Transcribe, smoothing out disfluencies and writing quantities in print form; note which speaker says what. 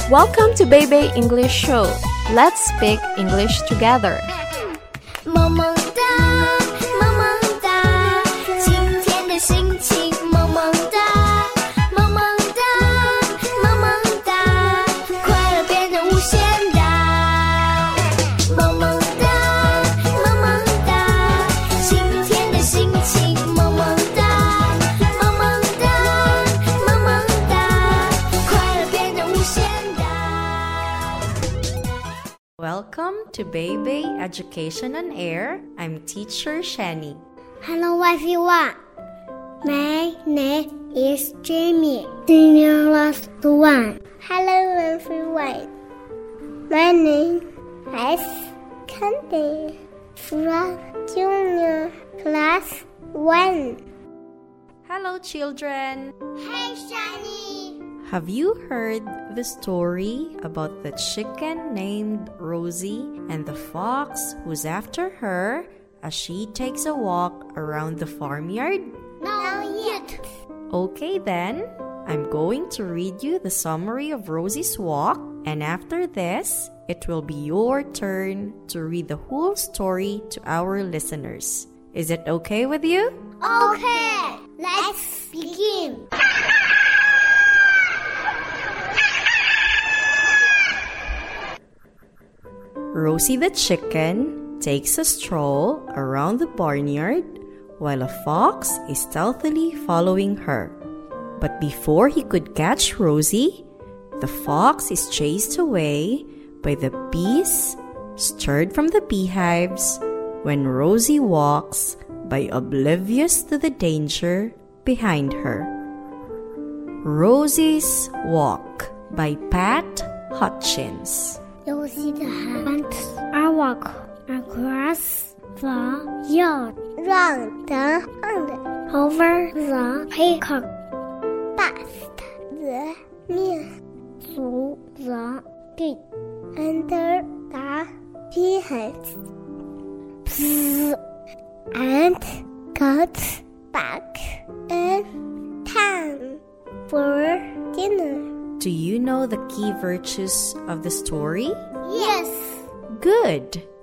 Speaker 1: Welcome to Baby English Show. Let's speak English together.
Speaker 2: 萌萌哒，萌萌哒，今天的心情萌萌哒，萌萌哒，萌萌哒，快乐变得无限大。萌萌哒，萌萌哒，今天的心情萌萌哒，萌萌哒，萌萌哒，快乐变得无限大。
Speaker 3: Welcome to Baby Education on Air. I'm Teacher Shani.
Speaker 4: Hello everyone. My name is Jamie, Senior Last One. Hello everyone. My name is Candy, from Junior Class 1.
Speaker 3: Hello, children.
Speaker 4: Hey Shani.
Speaker 3: Have you heard the story about the chicken named Rosie and the fox who's after her as she takes a walk around the farmyard?
Speaker 4: Not yet.
Speaker 3: Okay then, I'm going to read you the summary of Rosie's walk, and after this, it will be your turn to read the whole story to our listeners. Is it okay with you?
Speaker 4: Okay, let's begin.
Speaker 3: Rosie the chicken takes a stroll around the barnyard while a fox is stealthily following her. But before he could catch Rosie, the fox is chased away by the bees stirred from the beehives when Rosie walks by oblivious to the danger behind her. Rosie's Walk by Pat Hutchins.
Speaker 4: Rosie went a walk across the yard, round and over the haycock, past the mill, through the gate, under the beehives, and got back in time for dinner.
Speaker 3: Do you know the key virtues of the story?
Speaker 4: Yes.
Speaker 3: Good!